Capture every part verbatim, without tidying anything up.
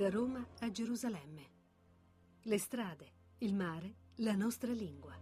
Da Roma a Gerusalemme. Le strade, il mare, la nostra lingua.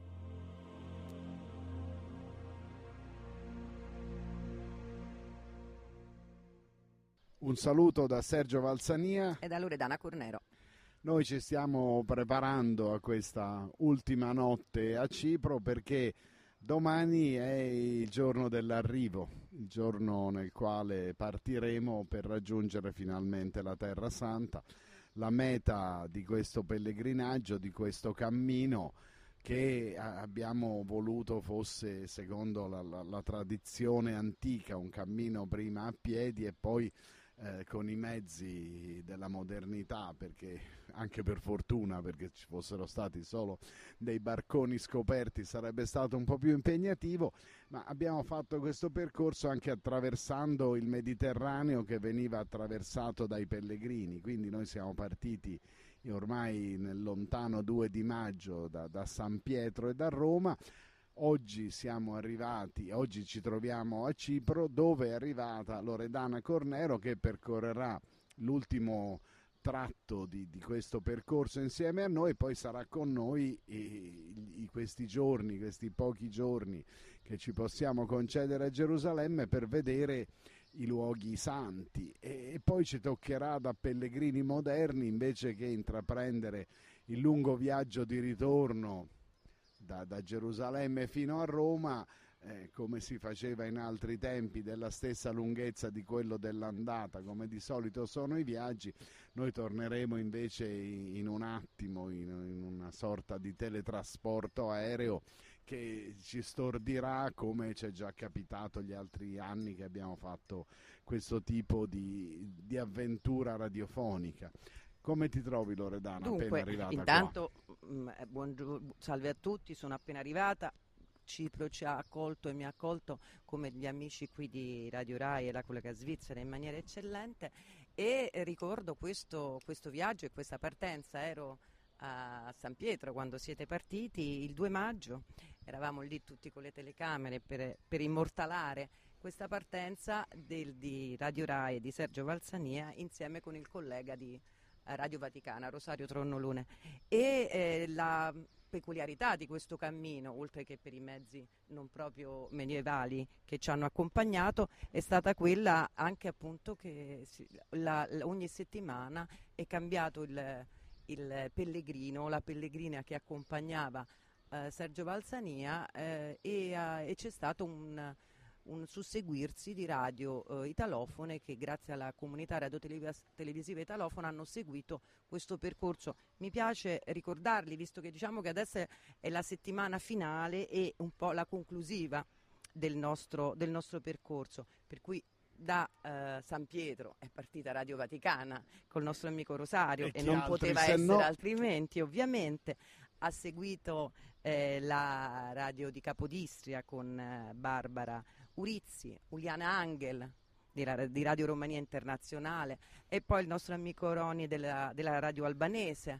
Un saluto da Sergio Valsania e da Loredana Cornero. Noi ci stiamo preparando a questa ultima notte a Cipro perché domani è il giorno dell'arrivo, il giorno nel quale partiremo per raggiungere finalmente la Terra Santa, la meta di questo pellegrinaggio, di questo cammino che abbiamo voluto fosse, secondo la, la, la tradizione antica, un cammino prima a piedi e poi Eh, con i mezzi della modernità, perché anche per fortuna, perché ci fossero stati solo dei barconi scoperti sarebbe stato un po' più impegnativo, ma abbiamo fatto questo percorso anche attraversando il Mediterraneo che veniva attraversato dai pellegrini, quindi noi siamo partiti ormai nel lontano due di maggio da, da San Pietro e da Roma. Oggi siamo arrivati, oggi ci troviamo a Cipro, dove è arrivata Loredana Cornero, che percorrerà l'ultimo tratto di, di questo percorso insieme a noi. Poi sarà con noi i, i, questi giorni, questi pochi giorni che ci possiamo concedere a Gerusalemme per vedere i luoghi santi, e, e poi ci toccherà da pellegrini moderni, invece che intraprendere il lungo viaggio di ritorno Da, da Gerusalemme fino a Roma, eh, come si faceva in altri tempi, della stessa lunghezza di quello dell'andata, come di solito sono i viaggi. Noi torneremo invece in, in un attimo, in, in una sorta di teletrasporto aereo che ci stordirà, come ci è già capitato gli altri anni che abbiamo fatto questo tipo di, di avventura radiofonica. Come ti trovi, Loredana, Dunque, appena arrivata intanto, qua? Buongiorno, salve a tutti, sono appena arrivata. Cipro ci ha accolto e mi ha accolto come gli amici qui di Radio Rai e la collega svizzera in maniera eccellente, e ricordo questo, questo viaggio e questa partenza. Ero a San Pietro quando siete partiti il due maggio, eravamo lì tutti con le telecamere per, per immortalare questa partenza del, di Radio Rai e di Sergio Valsania insieme con il collega di Radio Vaticana, Rosario Tronnolone. E eh, la peculiarità di questo cammino, oltre che per i mezzi non proprio medievali che ci hanno accompagnato, è stata quella anche appunto che si, la, la, ogni settimana è cambiato il, il pellegrino, la pellegrina che accompagnava eh, Sergio Valsania, eh, e, eh, e c'è stato un un susseguirsi di radio eh, italofone che, grazie alla comunità radiotelevisiva italofona, hanno seguito questo percorso. Mi piace ricordarli, visto che diciamo che adesso è la settimana finale e un po' la conclusiva del nostro, del nostro percorso, per cui da eh, San Pietro è partita Radio Vaticana col nostro amico Rosario, e, e non poteva essere no... altrimenti, ovviamente. Ha seguito eh, la radio di Capodistria con eh, Barbara Urizzi, Uliana Angel di, di Radio Romania Internazionale, e poi il nostro amico Roni della, della radio albanese,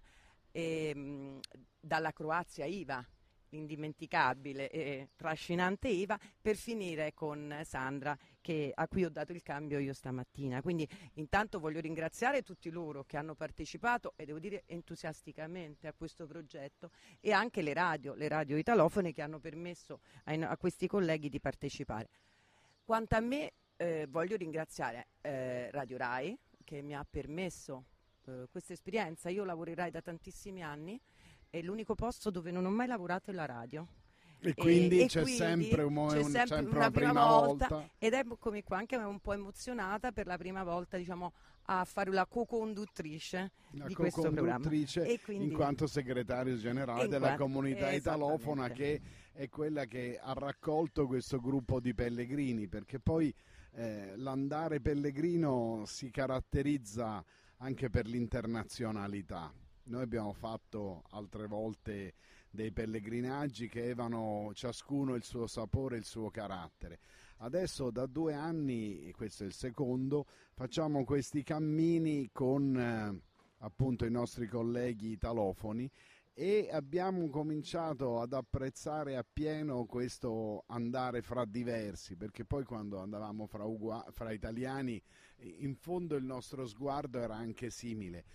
e, mh, dalla Croazia Iva, l'indimenticabile e trascinante Iva, per finire con Sandra, che, a cui ho dato il cambio io stamattina. Quindi intanto voglio ringraziare tutti loro che hanno partecipato, e devo dire entusiasticamente, a questo progetto, e anche le radio, le radio italofone che hanno permesso a, a questi colleghi di partecipare. Quanto a me, eh, voglio ringraziare eh, Radio Rai, che mi ha permesso eh, questa esperienza. Io lavoro in Rai da tantissimi anni, è l'unico posto dove non ho mai lavorato è la radio. E quindi e, c'è, e quindi sempre, un, c'è un, sempre, sempre una, una prima, prima volta, volta. Ed eccomi qua anche un po' emozionata per la prima volta, diciamo, a fare la co-conduttrice la di co questo programma. E quindi, in quanto segretario generale della quanto, comunità italofona, che è quella che ha raccolto questo gruppo di pellegrini, perché poi eh, l'andare pellegrino si caratterizza anche per l'internazionalità. Noi abbiamo fatto altre volte dei pellegrinaggi che avevano ciascuno il suo sapore, il suo carattere. Adesso da due anni, questo è il secondo, facciamo questi cammini con eh, appunto i nostri colleghi italofoni, e abbiamo cominciato ad apprezzare appieno questo andare fra diversi, perché poi quando andavamo fra, ugua- fra italiani in fondo il nostro sguardo era anche simile.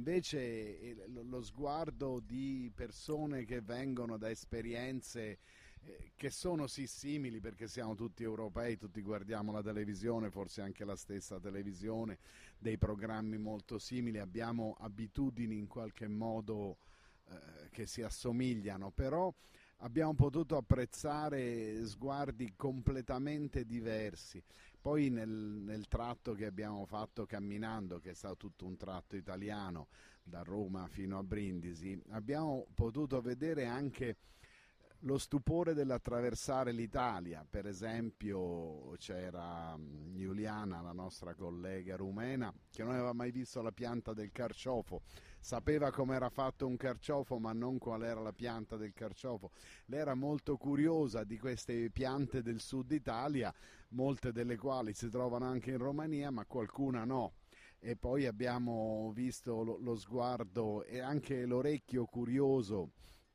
Invece lo sguardo di persone che vengono da esperienze eh, che sono sì simili, perché siamo tutti europei, tutti guardiamo la televisione, forse anche la stessa televisione, dei programmi molto simili, abbiamo abitudini in qualche modo eh, che si assomigliano, però abbiamo potuto apprezzare sguardi completamente diversi. Poi nel, nel tratto che abbiamo fatto camminando, che è stato tutto un tratto italiano, da Roma fino a Brindisi, abbiamo potuto vedere anche lo stupore dell'attraversare l'Italia. Per esempio c'era Giuliana, la nostra collega rumena, che non aveva mai visto la pianta del carciofo, sapeva come era fatto un carciofo ma non qual era la pianta del carciofo. Lei era molto curiosa di queste piante del sud Italia, molte delle quali si trovano anche in Romania, ma qualcuna no. E poi abbiamo visto lo, lo sguardo e anche l'orecchio curioso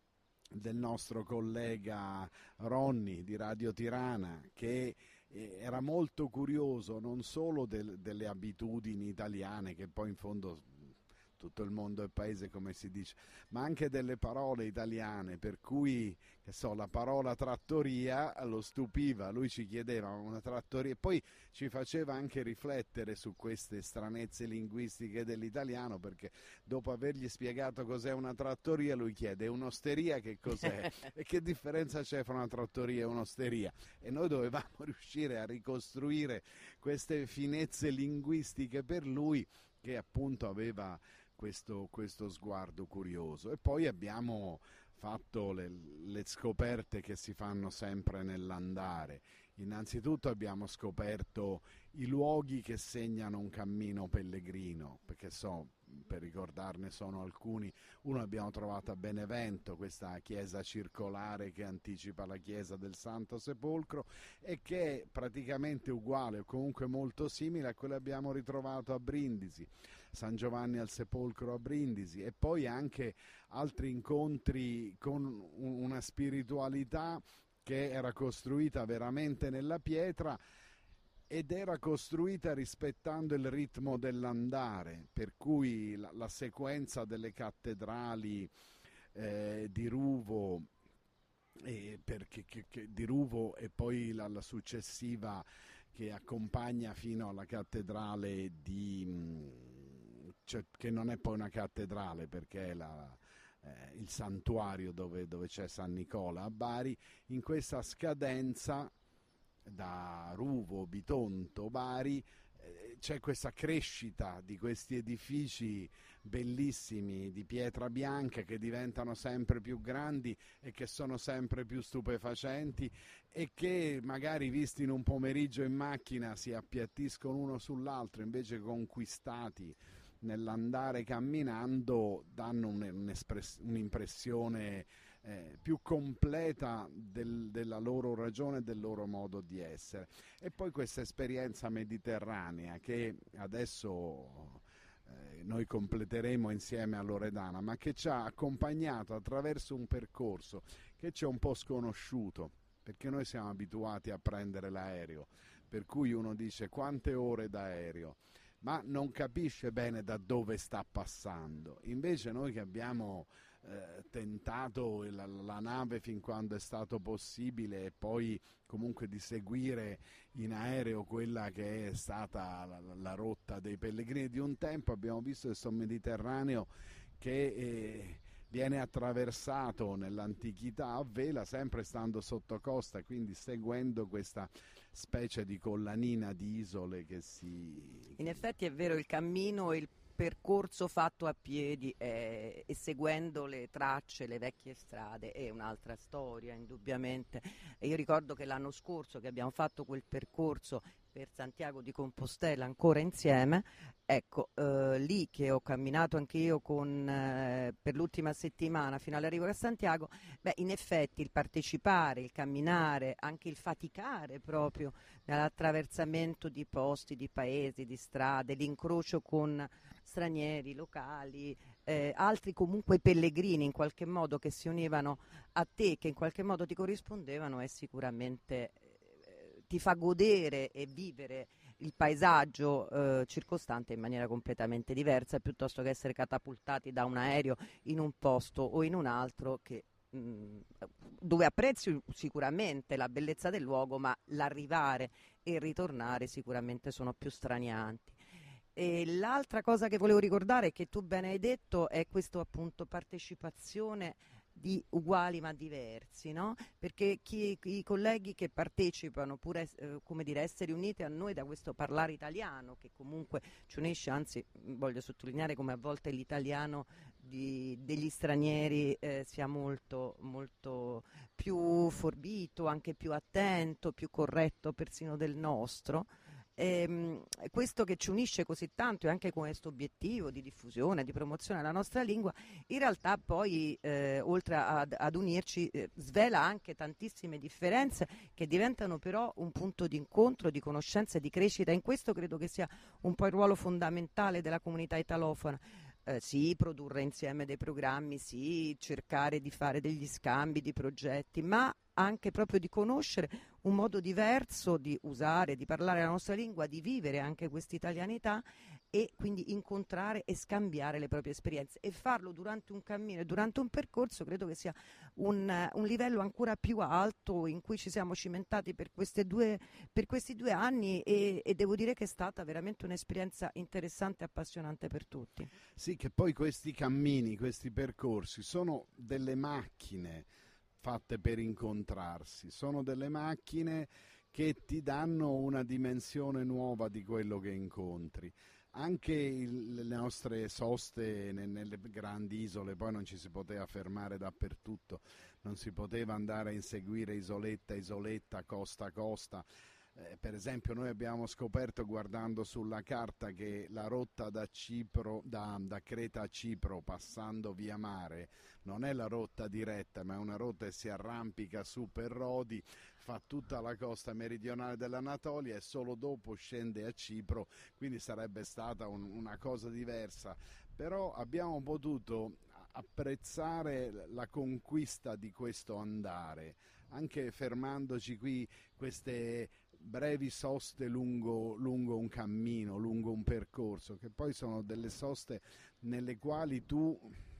del nostro collega Ronny di Radio Tirana, che era molto curioso non solo del, delle abitudini italiane, che poi in fondo tutto il mondo è paese, come si dice, ma anche delle parole italiane, per cui, che so, la parola trattoria lo stupiva, lui ci chiedeva una trattoria e poi ci faceva anche riflettere su queste stranezze linguistiche dell'italiano, perché dopo avergli spiegato cos'è una trattoria lui chiede: un'osteria che cos'è? E che differenza c'è fra una trattoria e un'osteria? E noi dovevamo riuscire a ricostruire queste finezze linguistiche per lui, che appunto aveva questo, questo sguardo curioso. E poi abbiamo fatto le, le scoperte che si fanno sempre nell'andare. Innanzitutto abbiamo scoperto i luoghi che segnano un cammino pellegrino, perché so, per ricordarne sono alcuni. Uno abbiamo trovato a Benevento, questa chiesa circolare che anticipa la chiesa del Santo Sepolcro e che è praticamente uguale o comunque molto simile a quello che abbiamo ritrovato a Brindisi, San Giovanni al Sepolcro a Brindisi, e poi anche altri incontri con una spiritualità che era costruita veramente nella pietra ed era costruita rispettando il ritmo dell'andare, per cui la, la sequenza delle cattedrali eh, di Ruvo, eh, perché, che, che, di Ruvo e poi la, la successiva che accompagna fino alla cattedrale di, cioè, che non è poi una cattedrale perché è la, eh, il santuario dove, dove c'è San Nicola a Bari. In questa scadenza da Ruvo, Bitonto, Bari, eh, c'è questa crescita di questi edifici bellissimi di pietra bianca che diventano sempre più grandi e che sono sempre più stupefacenti e che magari visti in un pomeriggio in macchina si appiattiscono uno sull'altro, invece conquistati nell'andare camminando danno un'impressione Eh, più completa del, della loro ragione e del loro modo di essere. E poi questa esperienza mediterranea che adesso eh, noi completeremo insieme a Loredana, ma che ci ha accompagnato attraverso un percorso che ci è un po' sconosciuto, perché noi siamo abituati a prendere l'aereo, per cui uno dice quante ore d'aereo, ma non capisce bene da dove sta passando. Invece noi che abbiamo Eh, tentato la, la nave fin quando è stato possibile e poi comunque di seguire in aereo quella che è stata la, la rotta dei pellegrini di un tempo, abbiamo visto questo Mediterraneo che eh, viene attraversato nell'antichità a vela, sempre stando sotto costa, quindi seguendo questa specie di collanina di isole che si... In effetti è vero, il cammino e il percorso fatto a piedi eh, e seguendo le tracce, le vecchie strade è un'altra storia indubbiamente. E io ricordo che l'anno scorso che abbiamo fatto quel percorso per Santiago di Compostela ancora insieme, ecco, eh, lì che ho camminato anche io con, eh, per l'ultima settimana fino all'arrivo a Santiago, beh, in effetti il partecipare, il camminare, anche il faticare proprio nell'attraversamento di posti, di paesi, di strade, l'incrocio con stranieri, locali, eh, altri comunque pellegrini in qualche modo che si univano a te, che in qualche modo ti corrispondevano, è sicuramente eh, ti fa godere e vivere il paesaggio eh, circostante in maniera completamente diversa, piuttosto che essere catapultati da un aereo in un posto o in un altro che, mh, dove apprezzi sicuramente la bellezza del luogo, ma l'arrivare e il ritornare sicuramente sono più stranianti. E l'altra cosa che volevo ricordare, che tu bene hai detto, è questo appunto partecipazione di uguali ma diversi, no? Perché chi, i colleghi che partecipano, pur es- eh, come dire, essere uniti a noi da questo parlare italiano, che comunque ci unisce, anzi voglio sottolineare come a volte l'italiano di, degli stranieri eh, sia molto, molto più forbito, anche più attento, più corretto persino del nostro. Ehm, questo che ci unisce così tanto e anche con questo obiettivo di diffusione, di promozione della nostra lingua, in realtà poi eh, oltre ad, ad unirci eh, svela anche tantissime differenze che diventano però un punto di incontro, di conoscenza e di crescita. In questo credo che sia un po' il ruolo fondamentale della comunità italofona. Eh, sì, produrre insieme dei programmi, sì, cercare di fare degli scambi di progetti, ma anche proprio di conoscere un modo diverso di usare, di parlare la nostra lingua, di vivere anche questa italianità e quindi incontrare e scambiare le proprie esperienze e farlo durante un cammino e durante un percorso. Credo che sia un, un livello ancora più alto in cui ci siamo cimentati per, queste due, per questi due anni e, e devo dire che è stata veramente un'esperienza interessante e appassionante per tutti. Sì, che poi questi cammini, questi percorsi sono delle macchine fatte per incontrarsi, sono delle macchine che ti danno una dimensione nuova di quello che incontri. Anche il, le nostre soste ne, nelle grandi isole, poi non ci si poteva fermare dappertutto, non si poteva andare a inseguire isoletta, isoletta, costa, costa. Eh, per esempio noi abbiamo scoperto guardando sulla carta che la rotta da, Cipro, da, da Creta a Cipro passando via mare non è la rotta diretta, ma è una rotta che si arrampica su per Rodi, fa tutta la costa meridionale dell'Anatolia e solo dopo scende a Cipro, quindi sarebbe stata un, una cosa diversa. Però abbiamo potuto apprezzare la conquista di questo andare, anche fermandoci qui queste brevi soste lungo, lungo un cammino, lungo un percorso, che poi sono delle soste nelle quali tu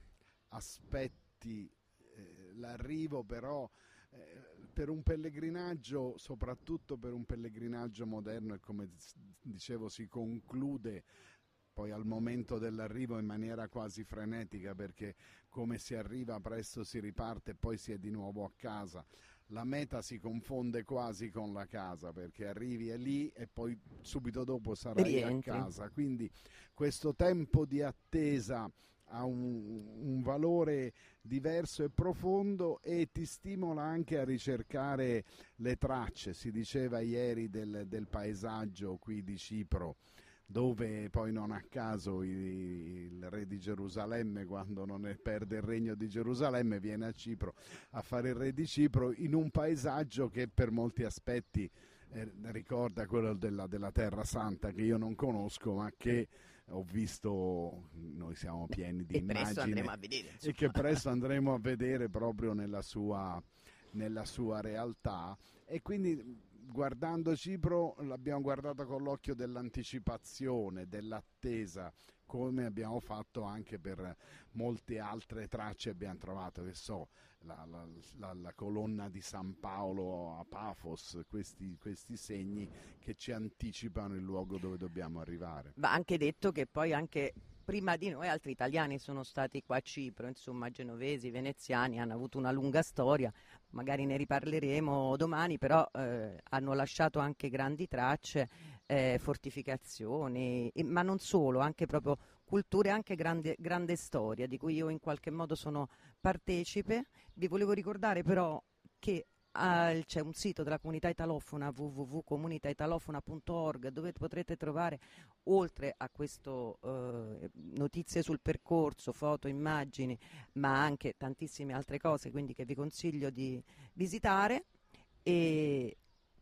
aspetti eh, l'arrivo, però eh, per un pellegrinaggio, soprattutto per un pellegrinaggio moderno, e come dicevo si conclude poi al momento dell'arrivo in maniera quasi frenetica, perché come si arriva presto si riparte e poi si è di nuovo a casa. La meta si confonde quasi con la casa, perché arrivi è lì e poi subito dopo sarai Rientri. a casa, quindi questo tempo di attesa ha un, un valore diverso e profondo e ti stimola anche a ricercare le tracce. Si diceva ieri del, del paesaggio qui di Cipro, dove poi non a caso il, il re di Gerusalemme, quando non è, perde il regno di Gerusalemme, viene a Cipro a fare il re di Cipro, in un paesaggio che per molti aspetti eh, ricorda quello della, della Terra Santa, che io non conosco ma che ho visto, noi siamo pieni di e presto immagini andremo a vedere, e che presto andremo a vedere proprio nella sua, nella sua realtà. E quindi guardando Cipro l'abbiamo guardata con l'occhio dell'anticipazione, dell'attesa, come abbiamo fatto anche per molte altre tracce. Abbiamo trovato, che so, la, la, la, la colonna di San Paolo a Pafos, questi, questi segni che ci anticipano il luogo dove dobbiamo arrivare. Va anche detto che poi anche prima di noi altri italiani sono stati qua a Cipro, insomma genovesi, veneziani, hanno avuto una lunga storia, magari ne riparleremo domani, però eh, hanno lasciato anche grandi tracce, eh, fortificazioni, e, ma non solo, anche proprio culture, anche grande, grande storia di cui io in qualche modo sono partecipe. Vi volevo ricordare però che Ah, c'è un sito della comunità italofona, w w w punto comunità italofona punto org, dove potrete trovare, oltre a questo eh, notizie sul percorso, foto, immagini, ma anche tantissime altre cose, quindi che vi consiglio di visitare. E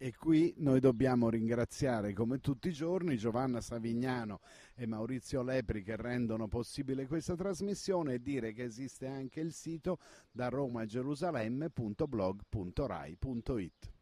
E qui noi dobbiamo ringraziare come tutti i giorni Giovanna Savignano e Maurizio Lepri che rendono possibile questa trasmissione, e dire che esiste anche il sito da roma a gerusalemme punto blog punto rai punto it.